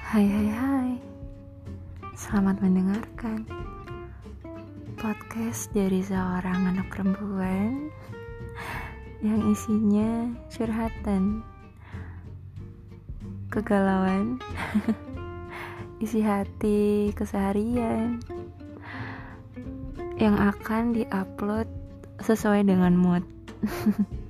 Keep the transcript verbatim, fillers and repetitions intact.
Hai hai hai, selamat mendengarkan podcast dari seorang anak perempuan yang isinya curhatan, kegalauan, isi hati keseharian yang akan diupload sesuai dengan mood.